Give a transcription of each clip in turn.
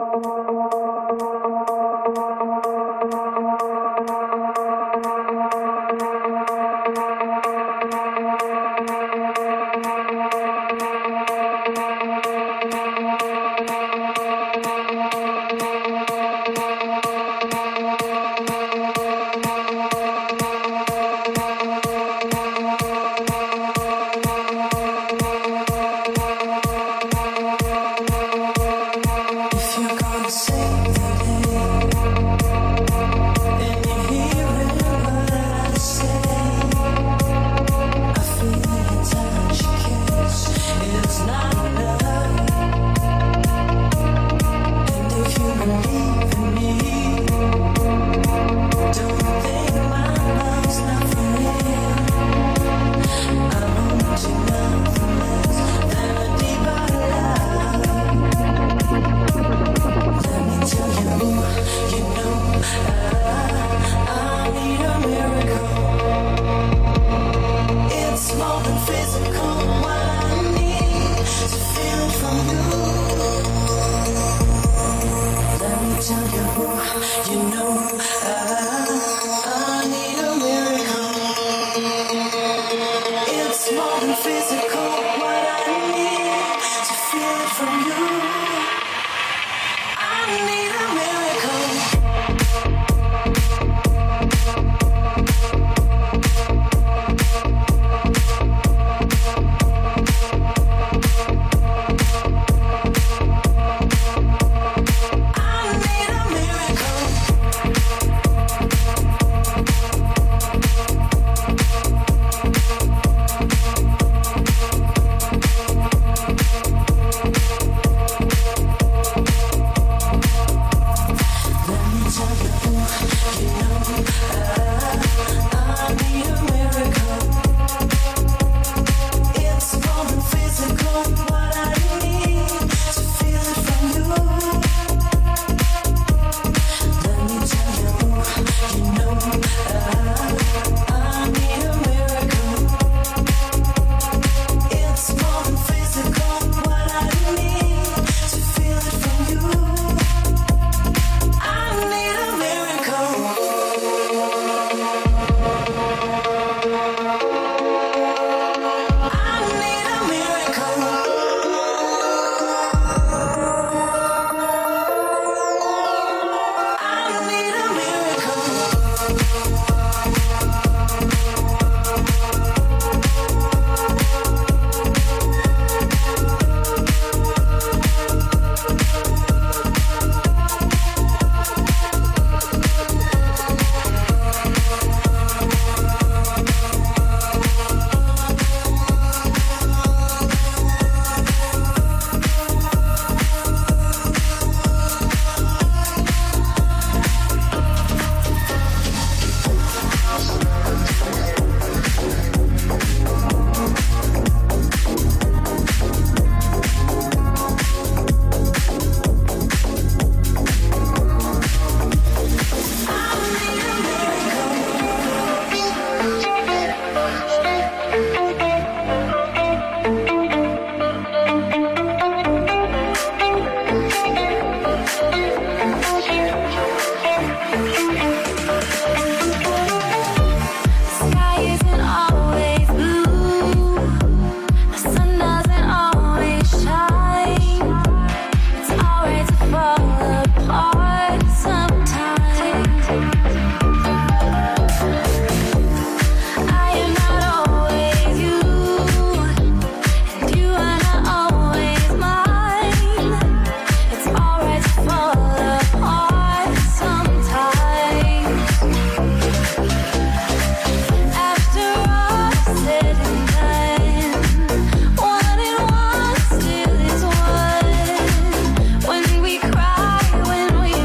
When we cry, when we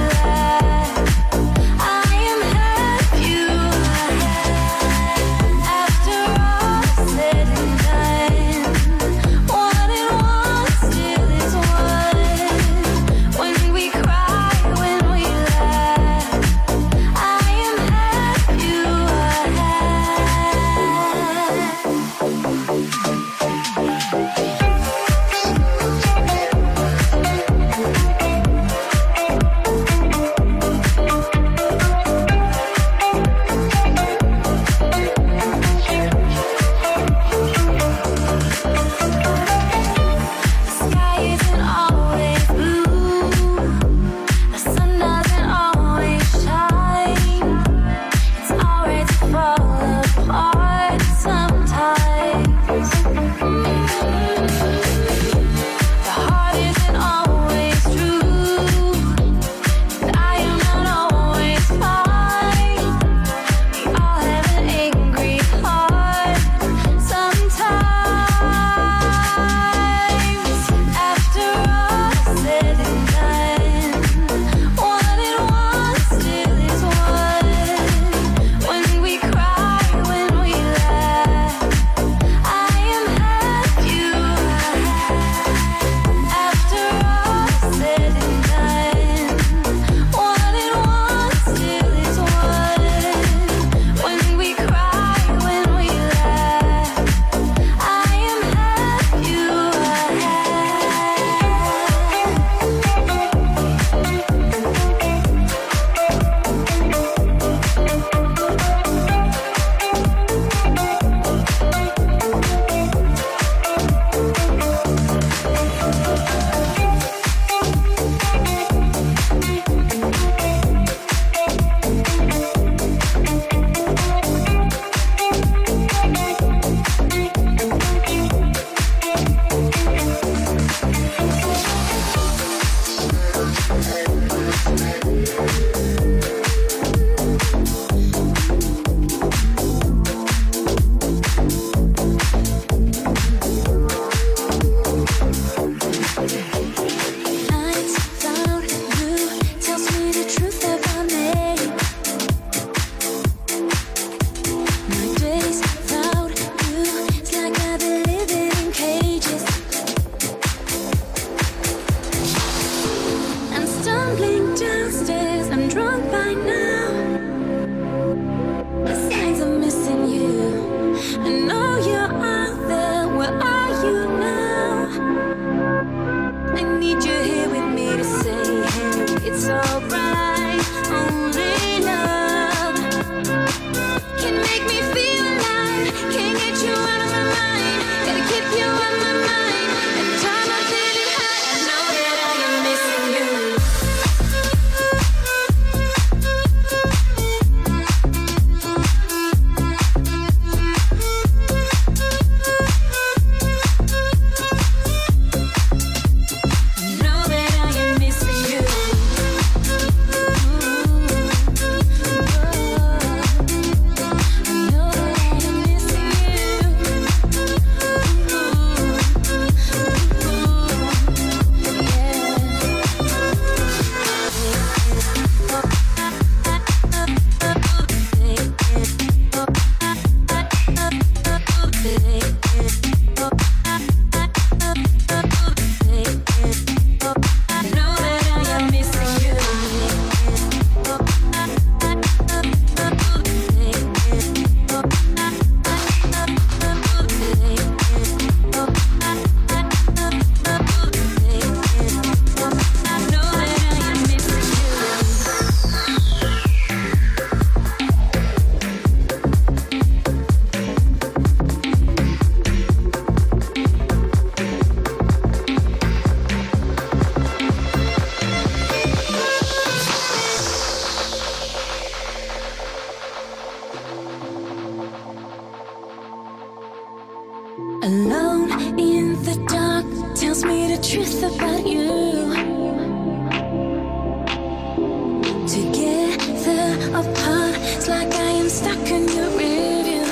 apart. It's like I am stuck in your rearview.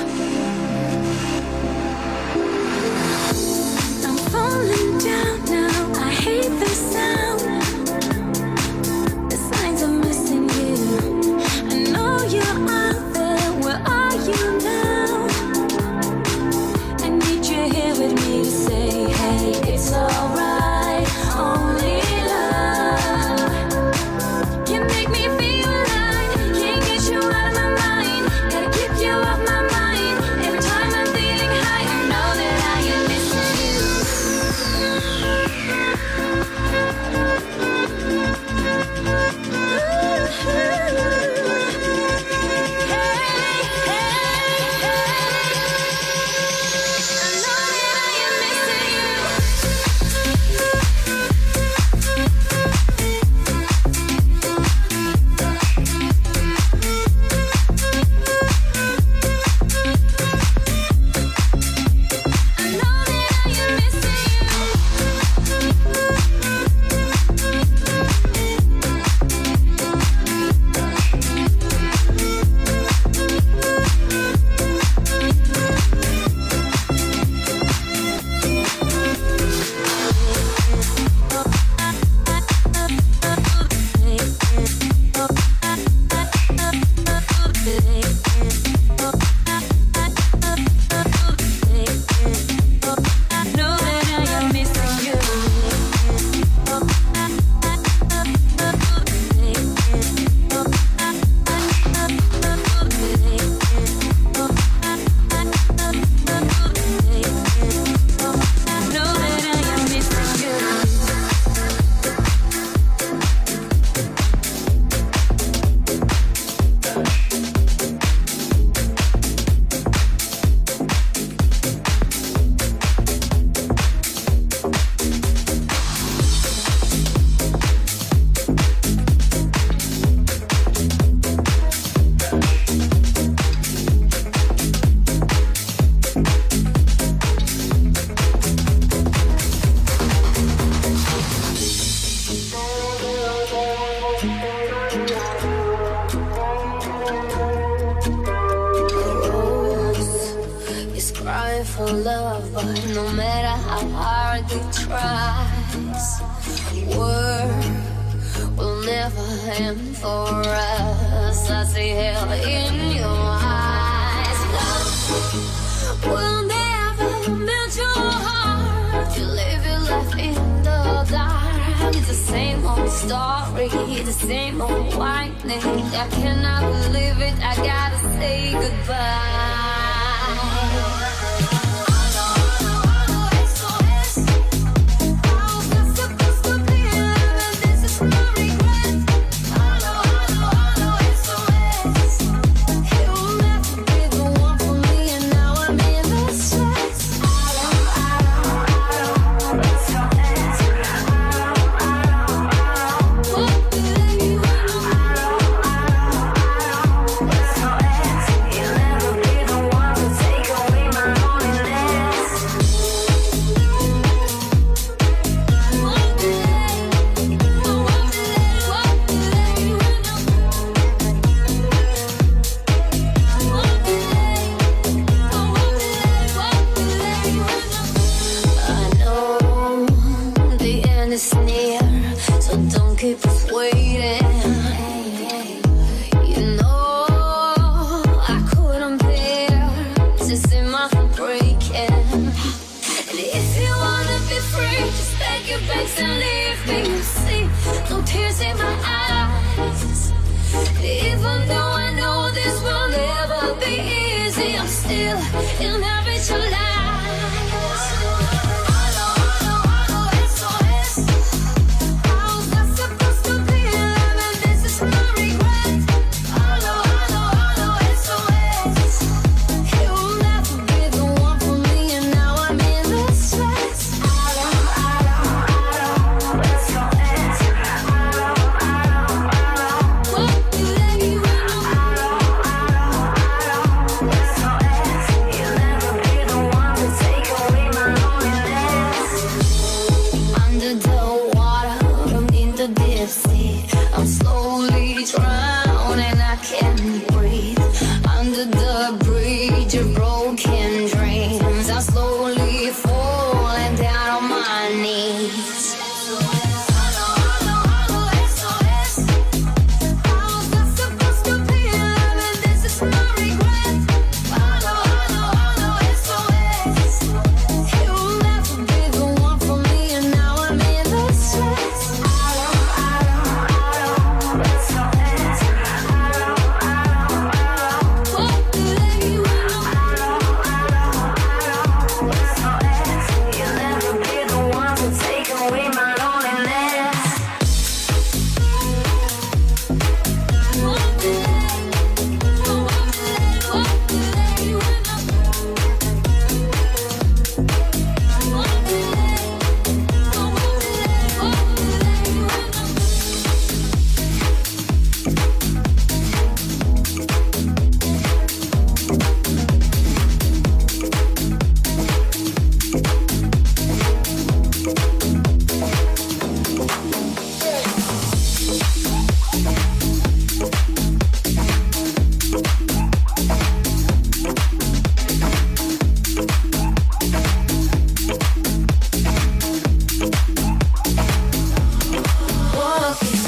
I'm falling down now. I hate the sound. The signs are missing you. I know you're out there. Where are you now? I need you here with me to say, hey, it's alright. Only love can make me feel alive. Can't get you out of my mind. Gotta keep you off my mind. Every time I'm feeling high, I know that I am missing you. For love, but no matter how hard it tries, work will never end for us. I see hell in your eyes. Love will never melt your heart. You live your life in the dark. It's the same old story, the same old whining. I cannot believe it. I gotta say goodbye. I'm slowly drowning, I can't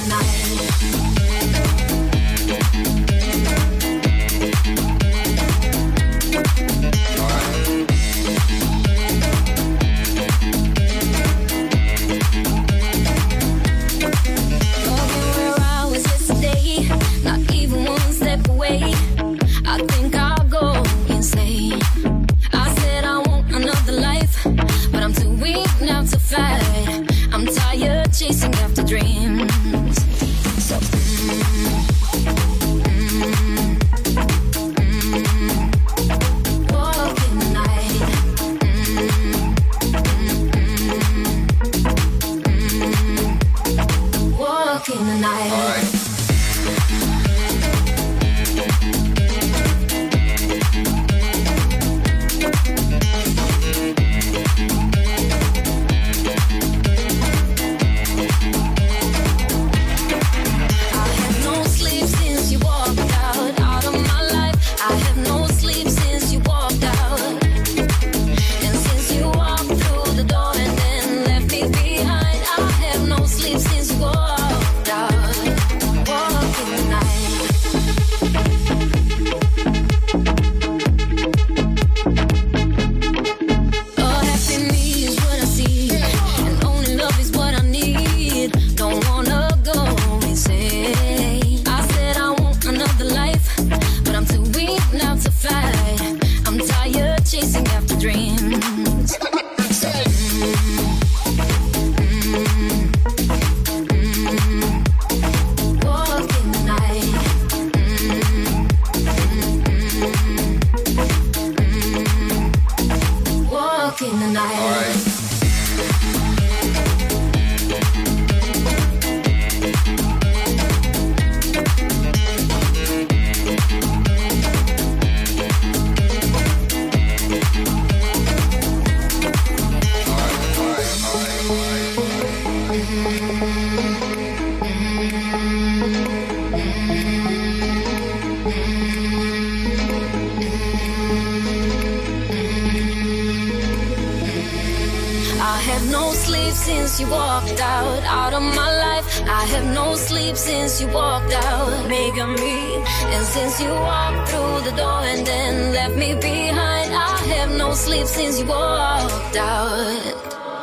since you walked out of my life. I have no sleep since you walked out, making me. And since you walked through the door and then left me behind, I have no sleep since you walked out,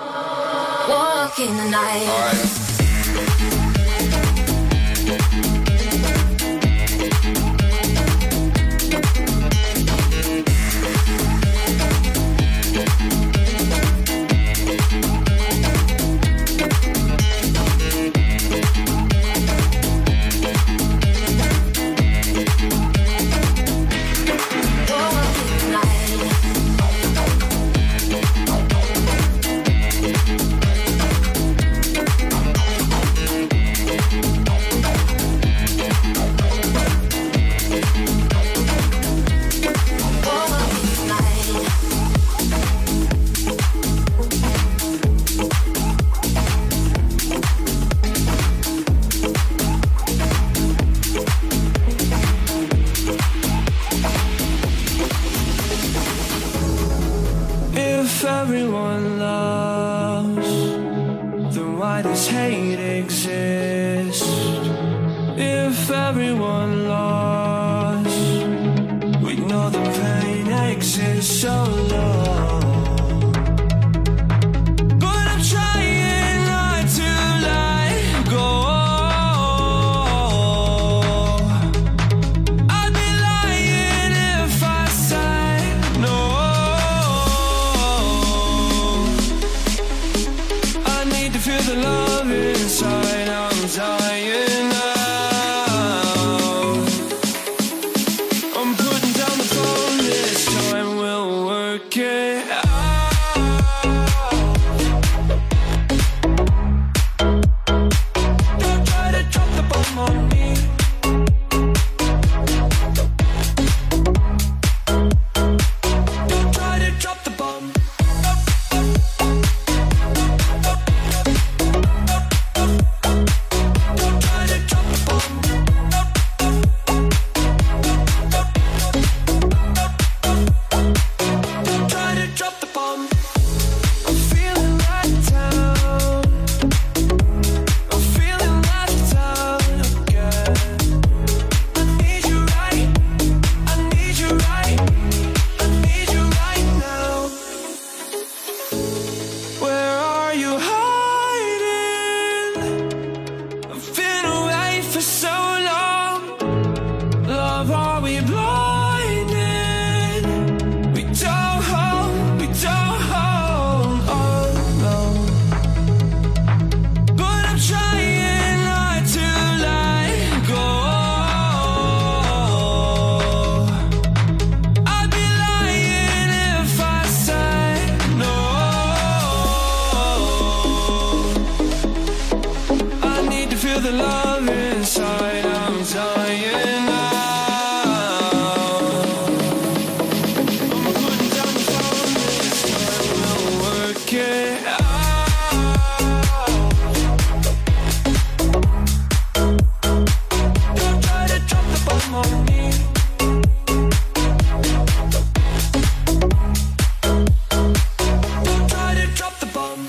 walking the night. All right. Everyone loves, then why does hate exist? If everyone lost, we know the pain exists so long. But I'm trying not to let go. I'd be lying if I said no. Feel the love inside, I'm dying now. I'm putting down the phone, this time we'll work it love inside, I'm dying now. I'm putting down the phone, this time we'll work it out. Don't try to drop the bomb on me. Don't try to drop the bomb.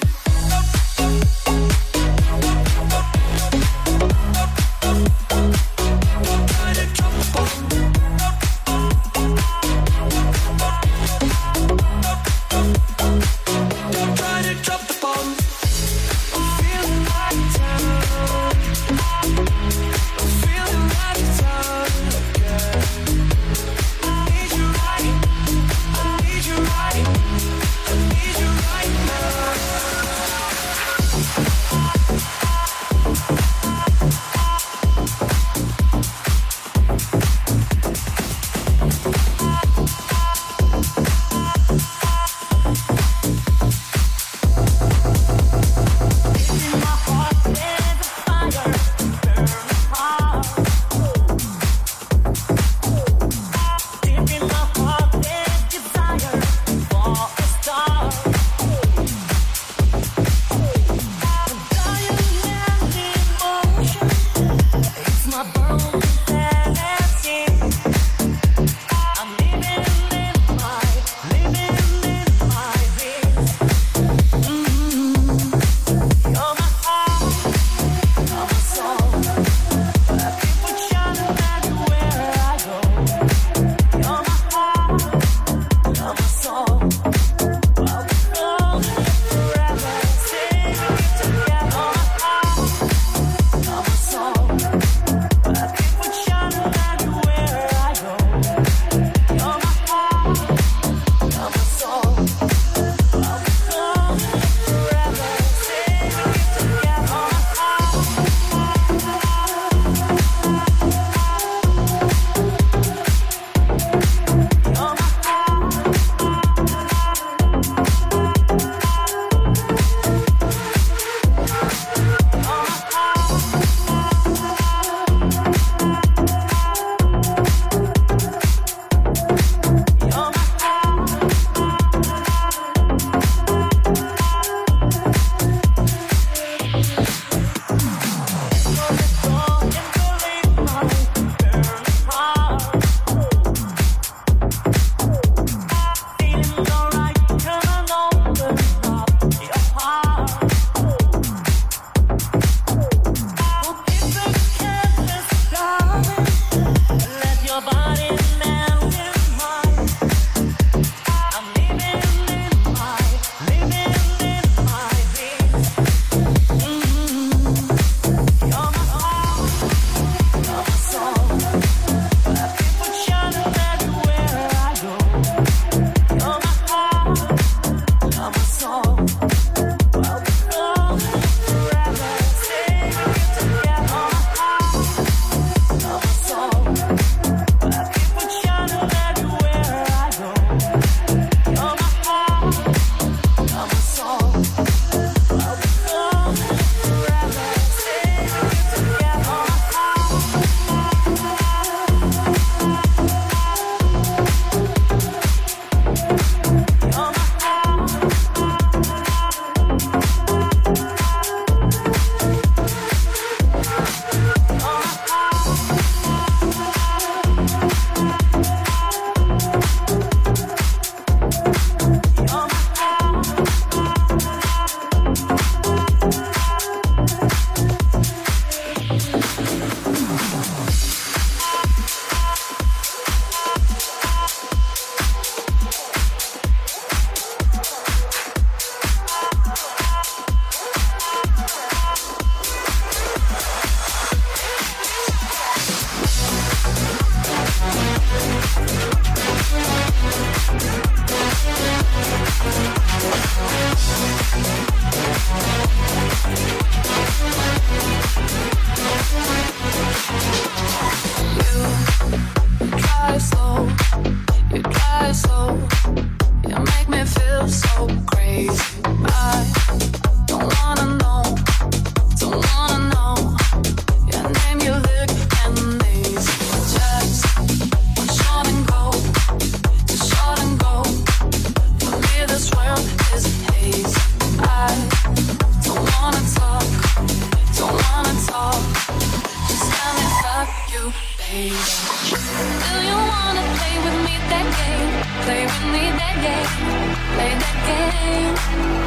you, baby. Do you wanna play with me that game? Play with me that game. Play that game.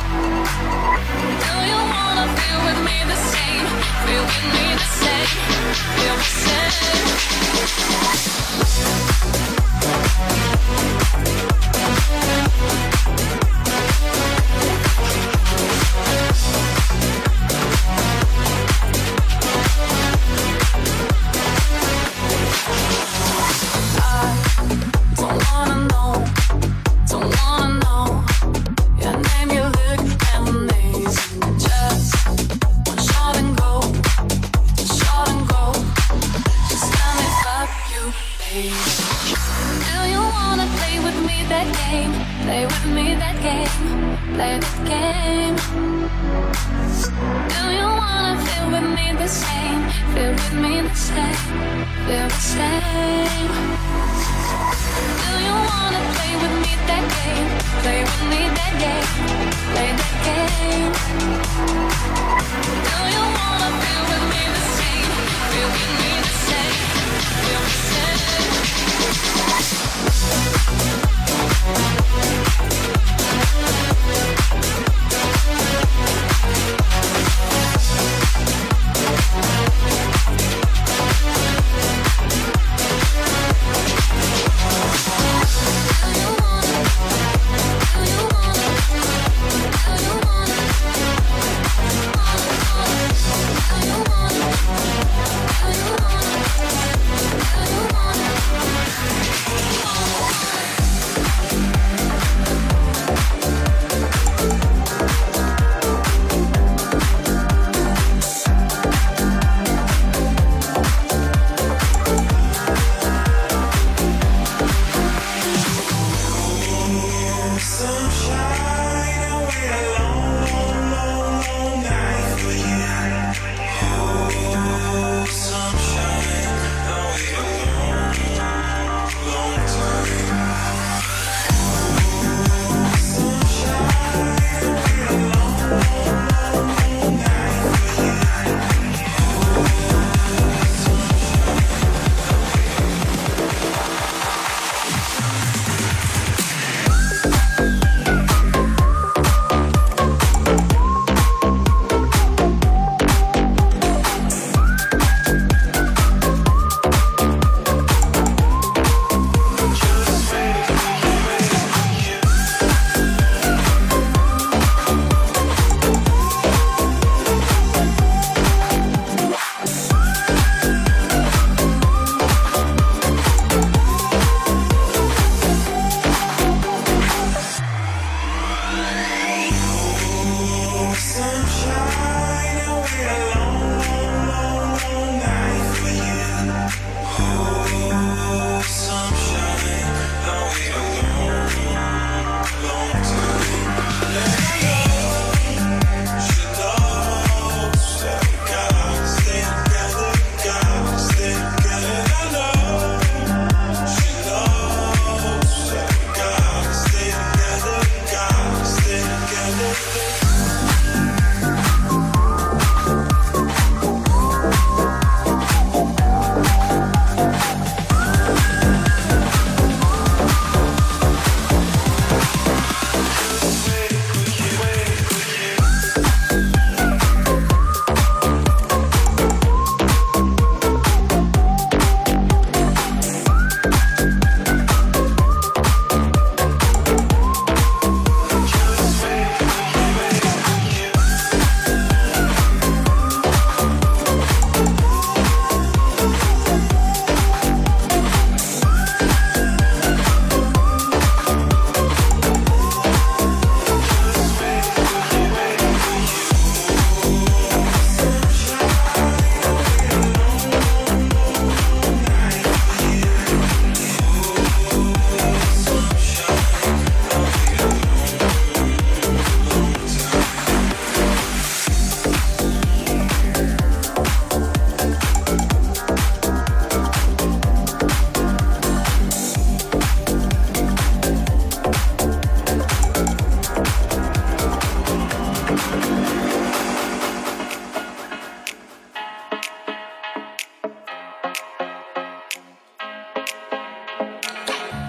Do you wanna feel with me the same? Feel with me the same. Feel the same.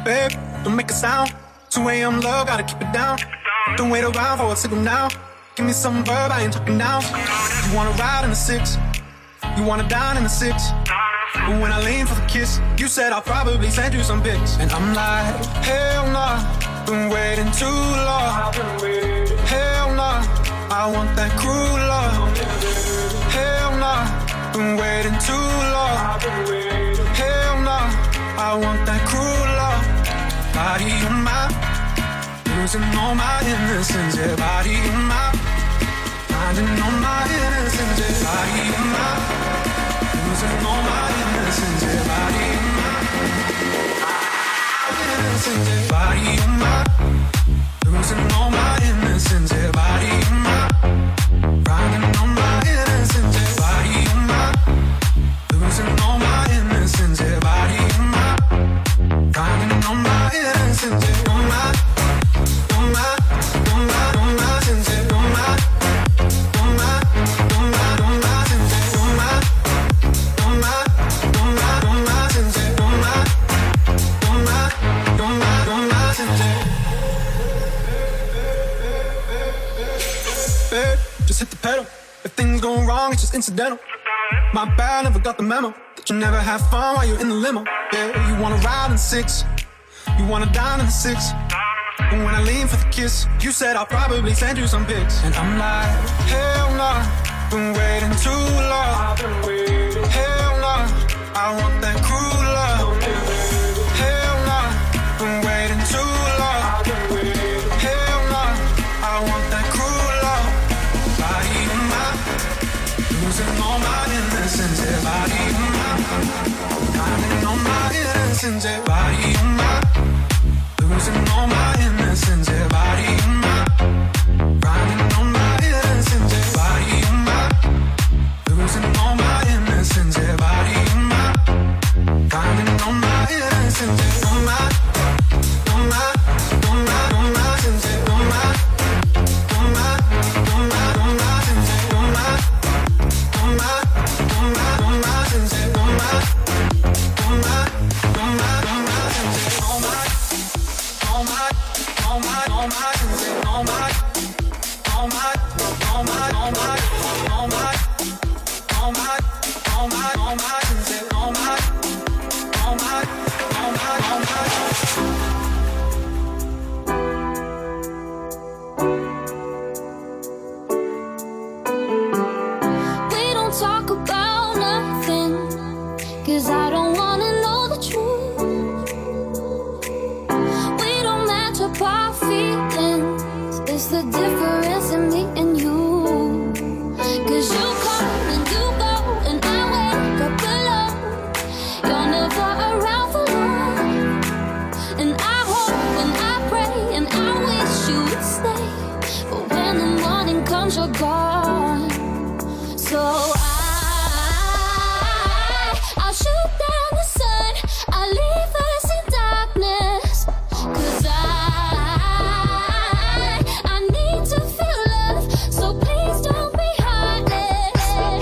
Babe, don't make a sound. 2 a.m. love, gotta keep it down. Don't wait around for a signal now. Give me some verb, I ain't talking now. You wanna ride in the 6, you wanna dine in the 6. But when I lean for the kiss, you said I'll probably send you some pics. And I'm like, hell nah, been waiting too long. Hell nah, I want that cruel love. Hell nah, been waiting too long. Hell nah, I want that cruel love. Body of mine, losing all my innocence. Yeah, body of mine, finding all my innocence. Yeah, body of mine, losing all my innocence. Yeah, body of mine, innocence. Yeah, body of mine, losing all my innocence. Yeah, body of mine, finding all my innocence. Yeah, body of mine, losing all my innocence. Yeah, body of mine, finding all my innocence. Yeah, all my, all my, all my, all my sins. Yeah, all my, all my, all my, all my sins. Yeah, all my, all my, all my, all my sins. Yeah, all my, all my, all my, all my sins. Yeah. Babe, just hit the pedal. If things go wrong, it's just incidental. My bad, never got the memo that you never have fun while you're in the limo. Yeah, you wanna ride in the 6, you wanna dine in the 6. And when I lean for the kiss, you said I'll probably send you some pics. And I'm like, hell nah, been waiting too long. Hell nah, I want that cruel love. Hell nah, been waiting too long. Hell nah, I want that cruel love. Body of mine, losing all my innocence. Yeah, body of mine, finding all my innocence. Yeah, body of mine, losing all my innocence. Yeah, body of mine, finding all my innocence. Yeah, body of mine, losing all my innocence. Yeah, body of mine, finding all my innocence. Yeah, all my, all my, all my, all my sins. Yeah, all my, all my, all my, all my sins. Yeah, all my, all my, all my, all my sins. Yeah, all my, all my, all my, all my sins. Yeah, all my, all my, all my, all my sins. Yeah, all my, all my, all my, all my, all my, all my, all my, all my sins. Yeah, all my, all my, all my, all my. We don't talk about nothing, 'cause I don't wanna know the truth. We don't match up our feelings, it's the difference in me and you. 'Cause you come and you go, and I wake up alone. You're never around for long, and I hope and I pray and I wish you would stay. But when the morning comes, you're gone. So I'll shoot down the sun, I'll leave us in darkness. 'Cause I need to feel love, so please don't be heartless.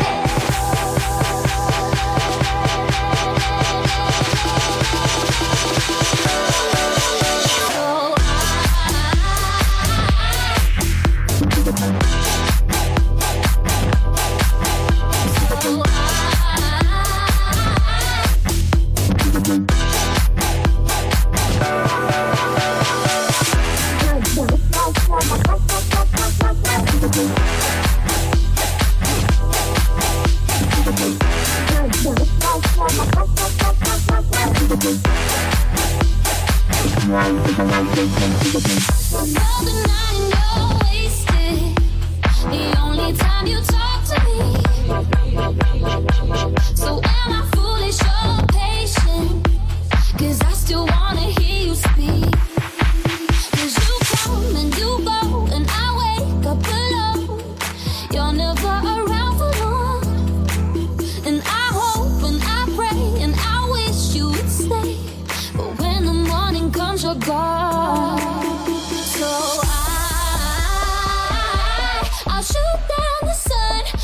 Another night and you're wasted. The only time you talk to me. So am I foolish or patient? 'Cause I still wanna hear you speak. 'Cause you come and you go, and I wake up alone. You're never around for long, and I hope and I pray and I wish you would stay. But when the morning comes, you're gone. So I'll shoot down the sun,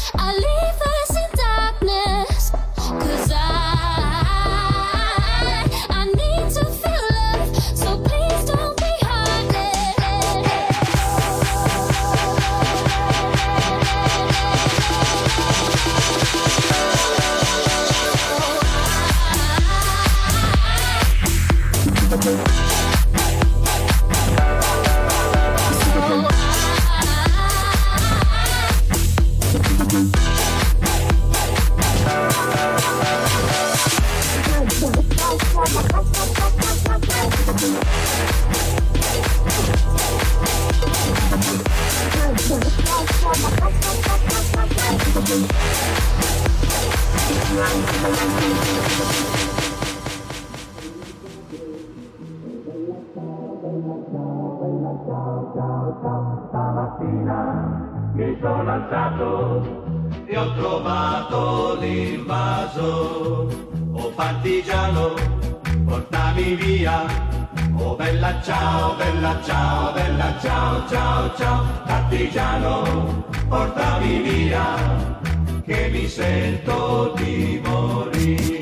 Stamattina mi sono alzato e ho trovato l'invaso. Oh partigiano, portami via. Oh bella ciao, bella ciao, bella ciao, ciao, ciao. Partigiano, portami via, che mi sento di morire.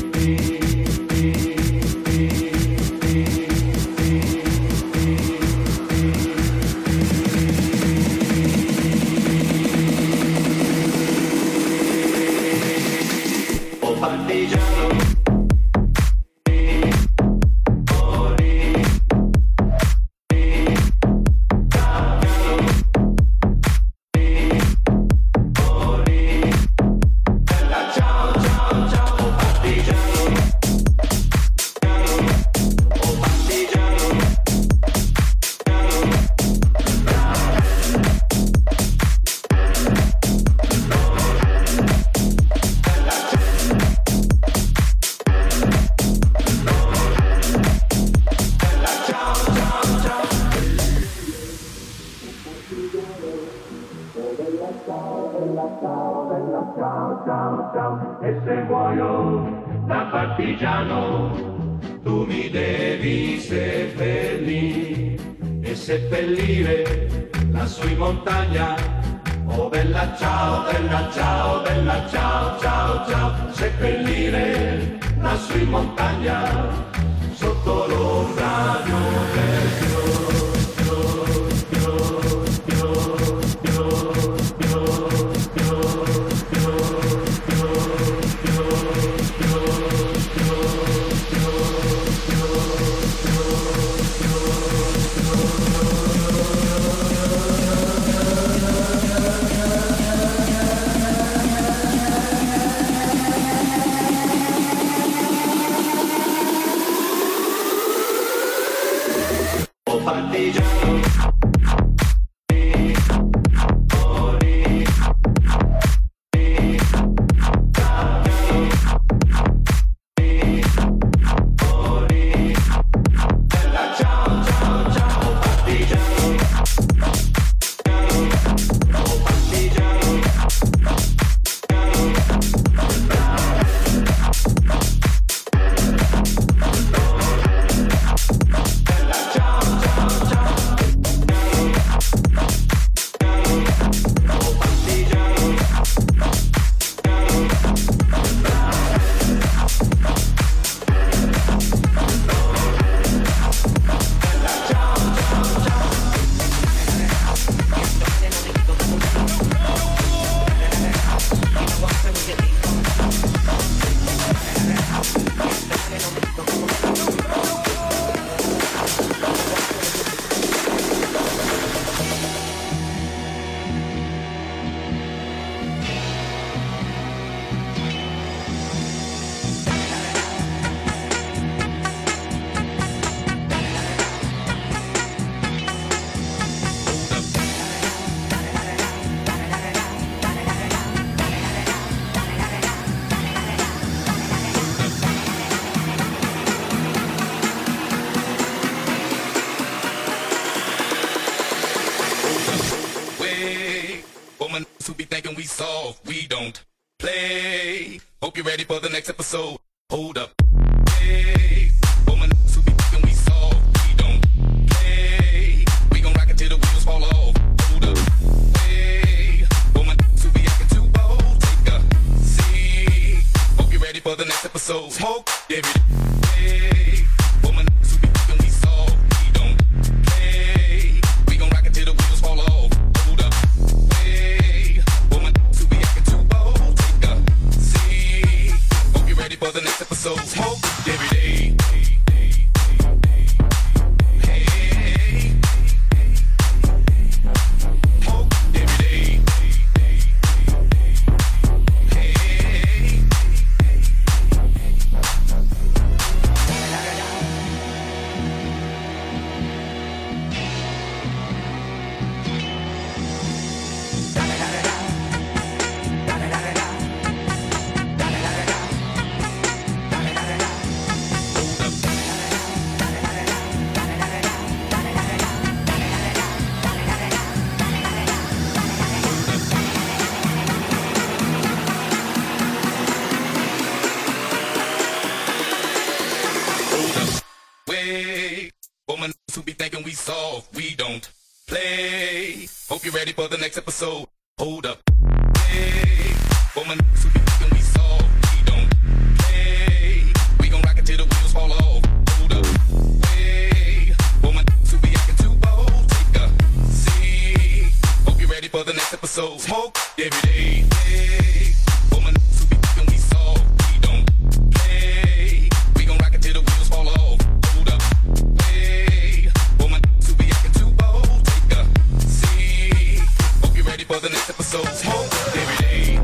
E se muoio da partigiano, tu mi devi seppellire e seppellire lassù in montagna. Oh bella ciao, bella ciao, bella ciao, ciao, ciao. Seppellire lassù in montagna, sotto l'ombra di un vecchio. Partigiano. Who be thinking we soft, we don't play. Hope you're ready for the next episode. Hold up. Hey, woman, who be thinking we soft, we don't play. We gon' rock it till the wheels fall off. Hold up. Hey, woman, who be acting too bold, take a seat. Hope you're ready for the next episode. Smoke, every day. Hey, woman, who be thinking we soft, we don't play. We gon' rock it till the wheels fall off. Hold up. For the next episode, smoke every day. Hey, smoke every day. Hey. ready for the next episode. Hold up. Hey, for my niggas who be thinking we soft, we don't play. We gon' rock it till the wheels fall off. Hold up. Hey, for my niggas who be acting too bold, take a seat. Hope you're ready for the next episode. Smoke every day. Hey, for my niggas who be thinking we soft, we don't play. We gon' rock it till the wheels fall off. Hold up. Hey, for my niggas who be acting too bold, take a seat. Hope you're ready for the next episode. Smoke every day.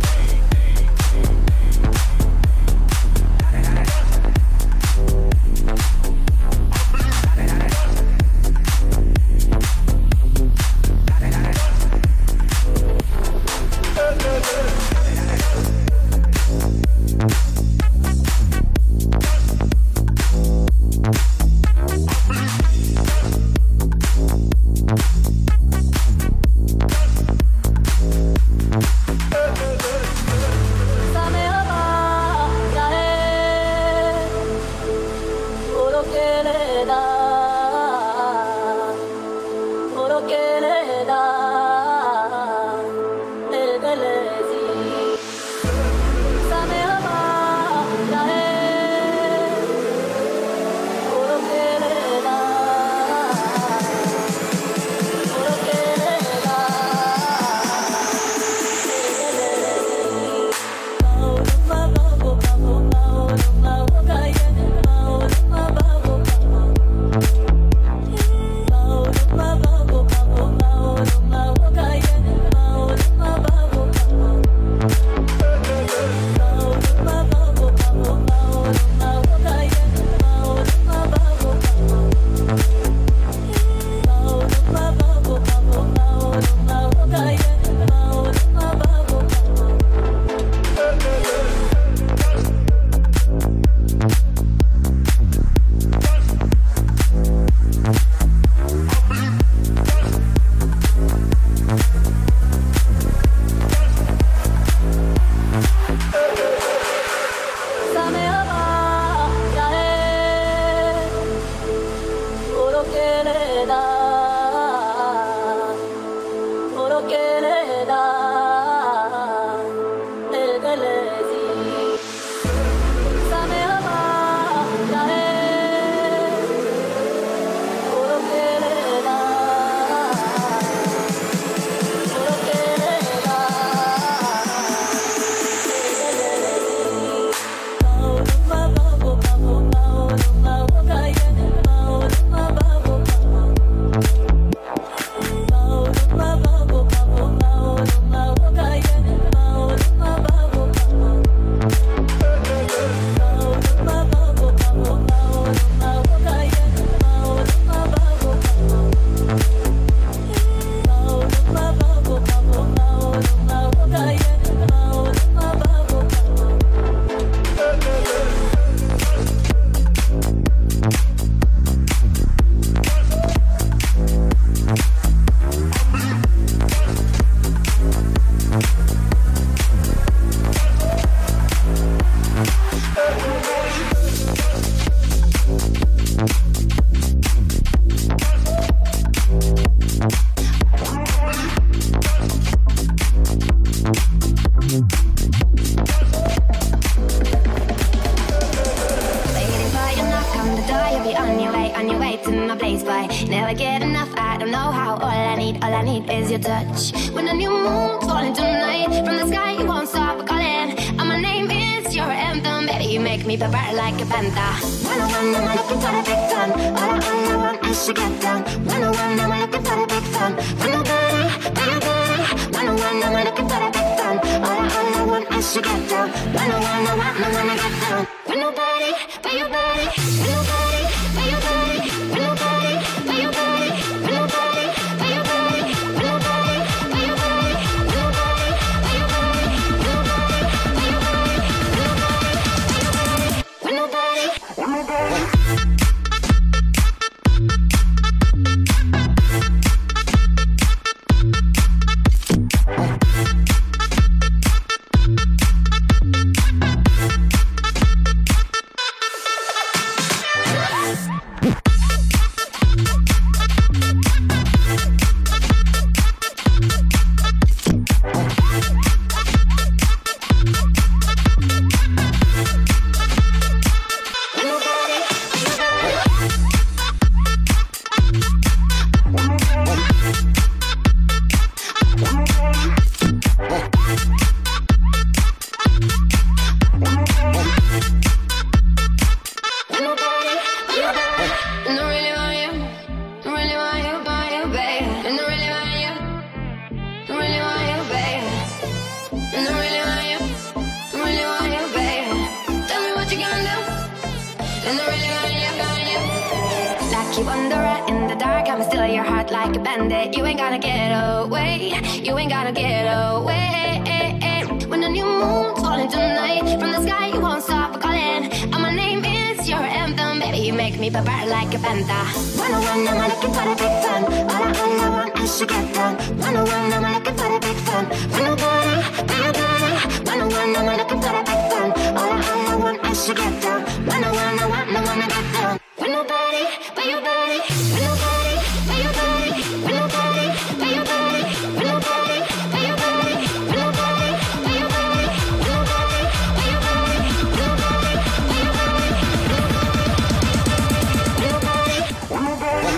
then they're really gonna you. Like you under it in the dark, I'ma steal your heart like a bandit. You ain't gonna get away, you ain't gonna get away. When the new moon's falling tonight, from the sky you won't stop calling. And my name is your anthem, baby, you make me purr like a panda. 101, I'm looking for the big fun. All I want is to get done. 101, I'm looking for the big fun. When nobody, 101, I'm looking for the big fun. All I want is to get done. 101, I wanna get done. When nobody, but your body. When nobody, but your body. When nobody, but your body. When nobody, but your body. When nobody, but your body. When nobody, but your body. When nobody, but your body. When nobody, when nobody.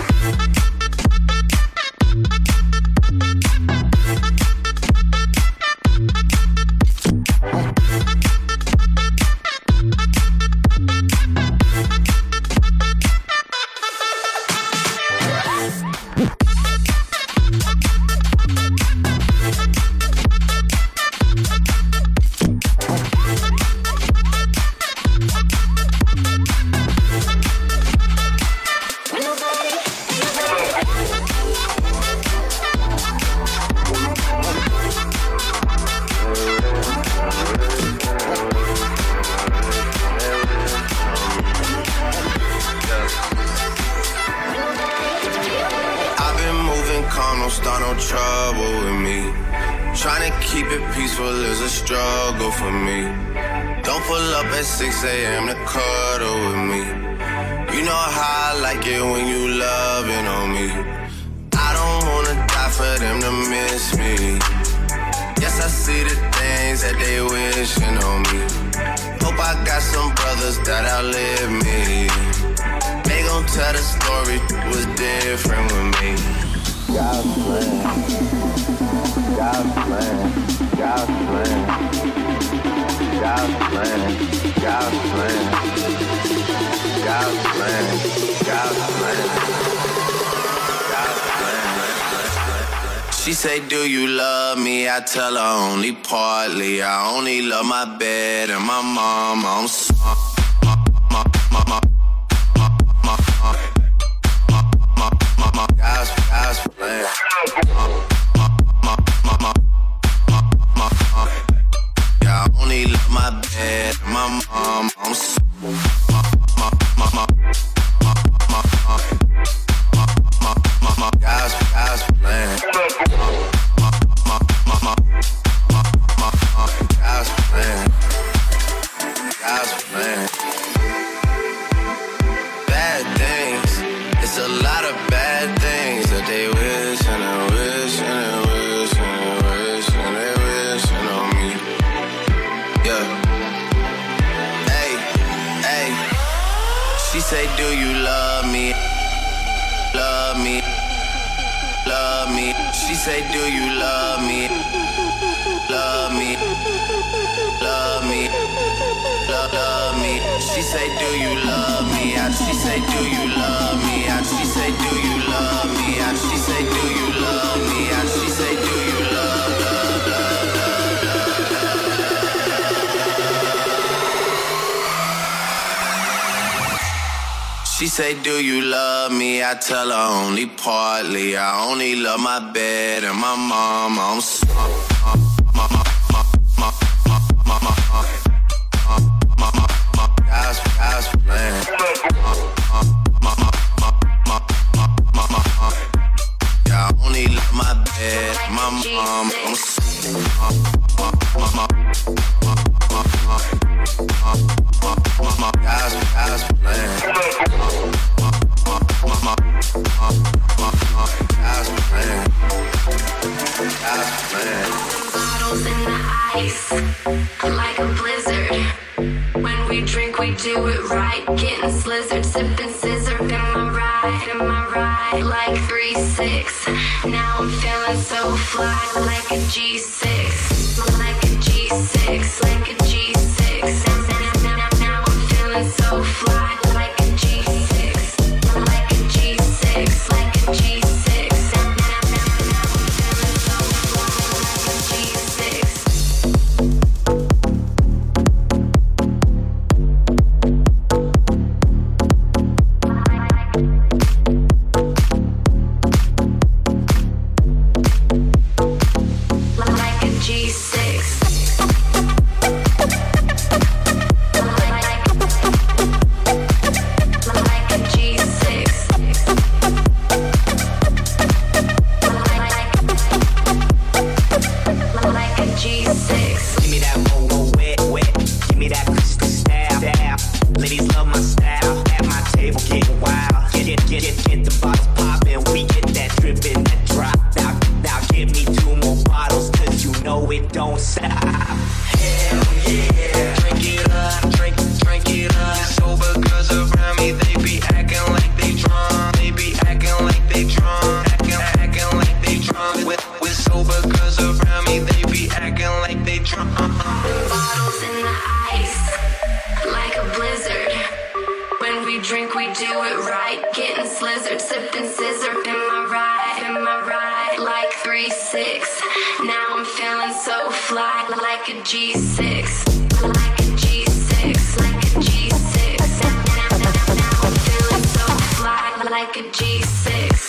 Struggle for me. Don't pull up at 6 a.m. to cuddle with me. You know how I like it when you loving on me. I don't wanna die for them to miss me. Yes, I see the things that they wishing on me. Hope I got some brothers that outlive me. They gon' tell the story was different with me. God's plan, God's plan, God's plan, God's plan, God's plan, God's plan, God's plan, God's plan. She say, do you love me? I tell her only partly. I only love my bed and my mom. I'm sorry. God's plan. Yeah, I only love my bed, my mom. I'm so God's plan. God's plan. God's plan. Bad things. It's a lot of bad things that they wish and they wish and they wish and they wish and they wishing on me. Yeah. Hey, hey. She say, do you love me? Love me. Love me. She say, do you love me? Love me. Love me. Love me. She say, do you love me? She say, do you love me? She say, do you love me? She say, do you love me? She say, do you love, love, love, love, love. She say, do you love me? I tell her only partly. I only love my bed and my mom. I'm sorry. God's plan. Yeah, I only love my bed, my mom. I'm God's plan. God's plan. God's plan. Bottles in the ice, like a blizzard. When we drink, we do it right. Getting slizzard, sipping scissor. In my ride, like 3-6. Now I'm feeling so fly, like a G6, like a G6, like a G6. Now I'm feeling so fly, like a G6, like a G6, like a G6. Now I'm feeling so fly, like a G6. we do it right. Getting slizzard, sipping scissor. Am I right? Like 3-6. Now I'm feeling so fly, like a G6. Like a G6, like a G6. Now I'm feeling so fly, like a G6.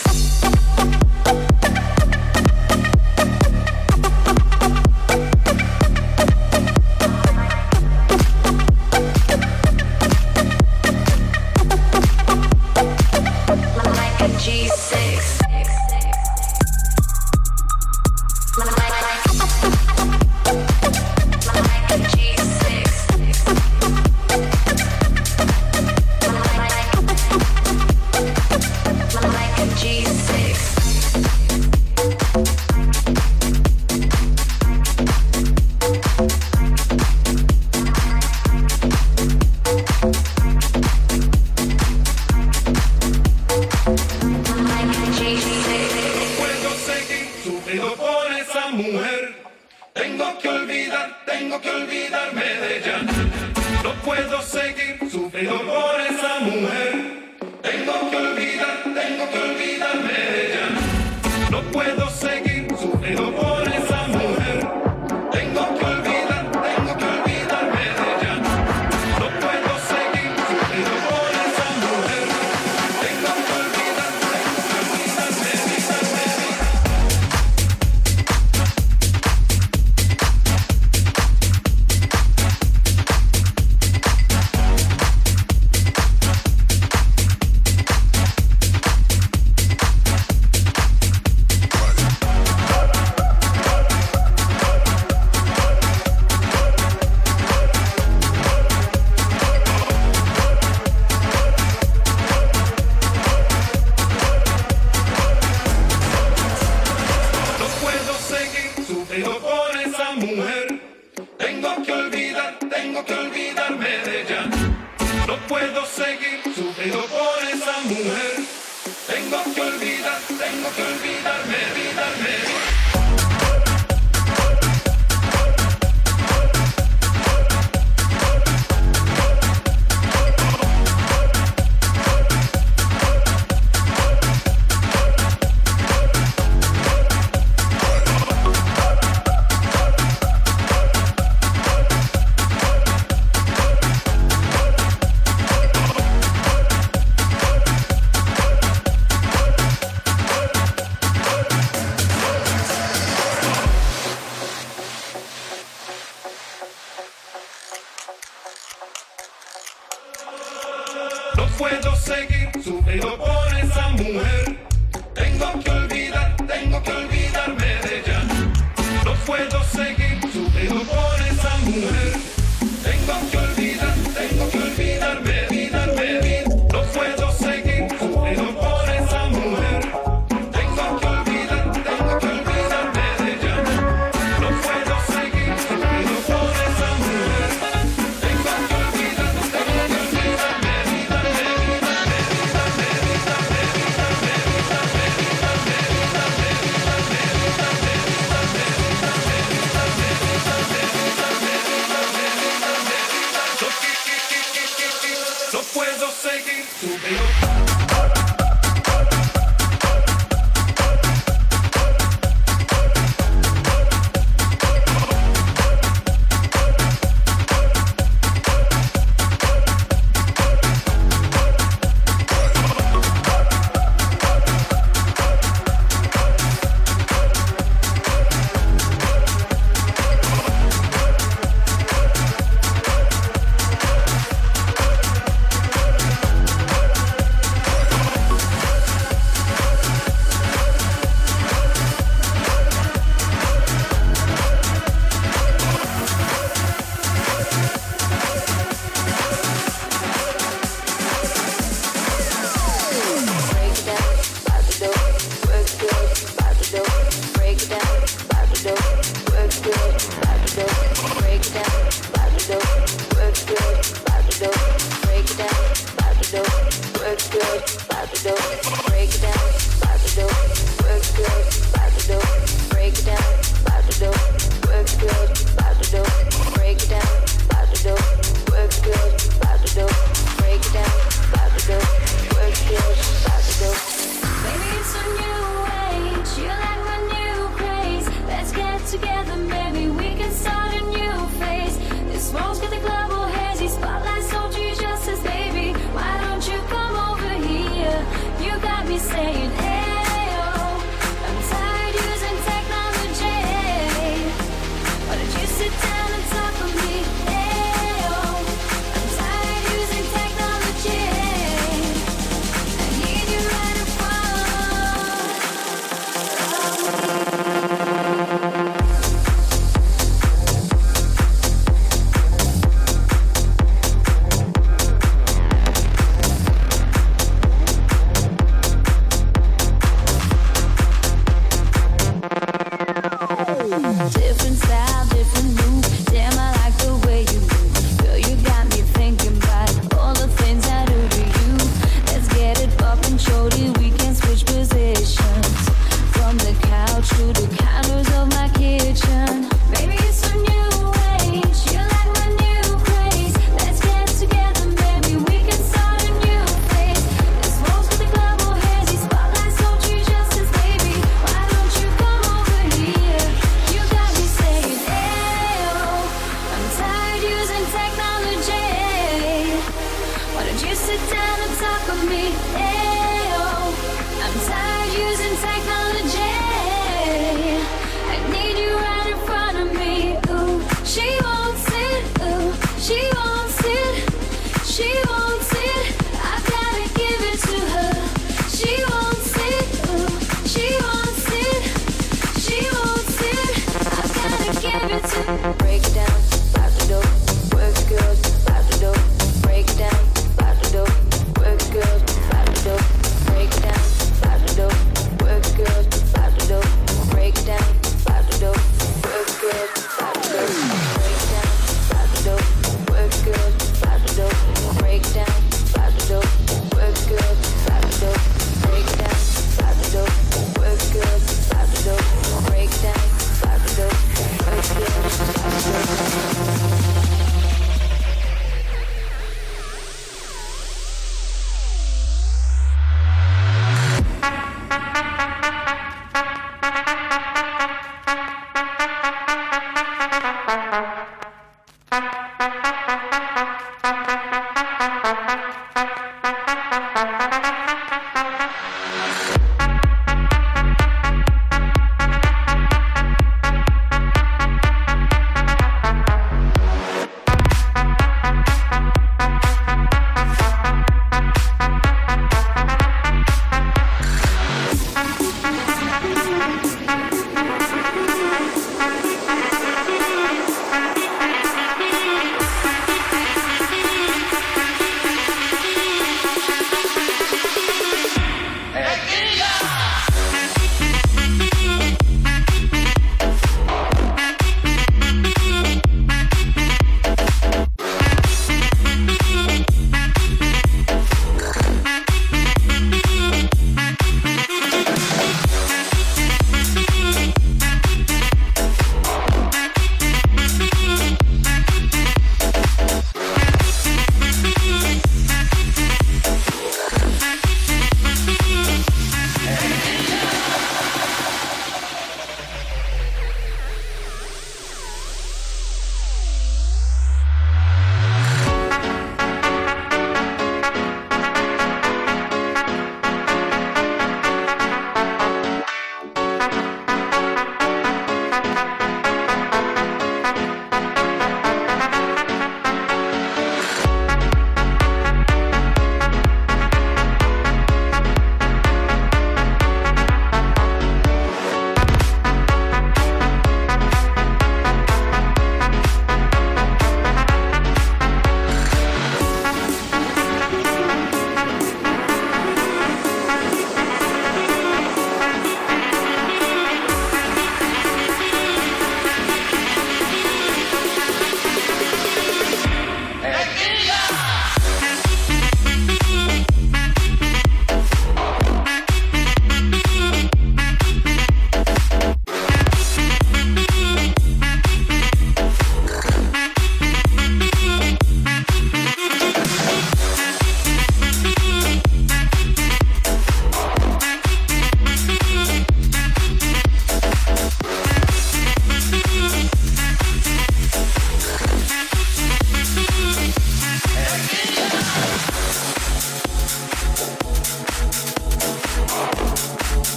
sit down and talk with me. Yeah.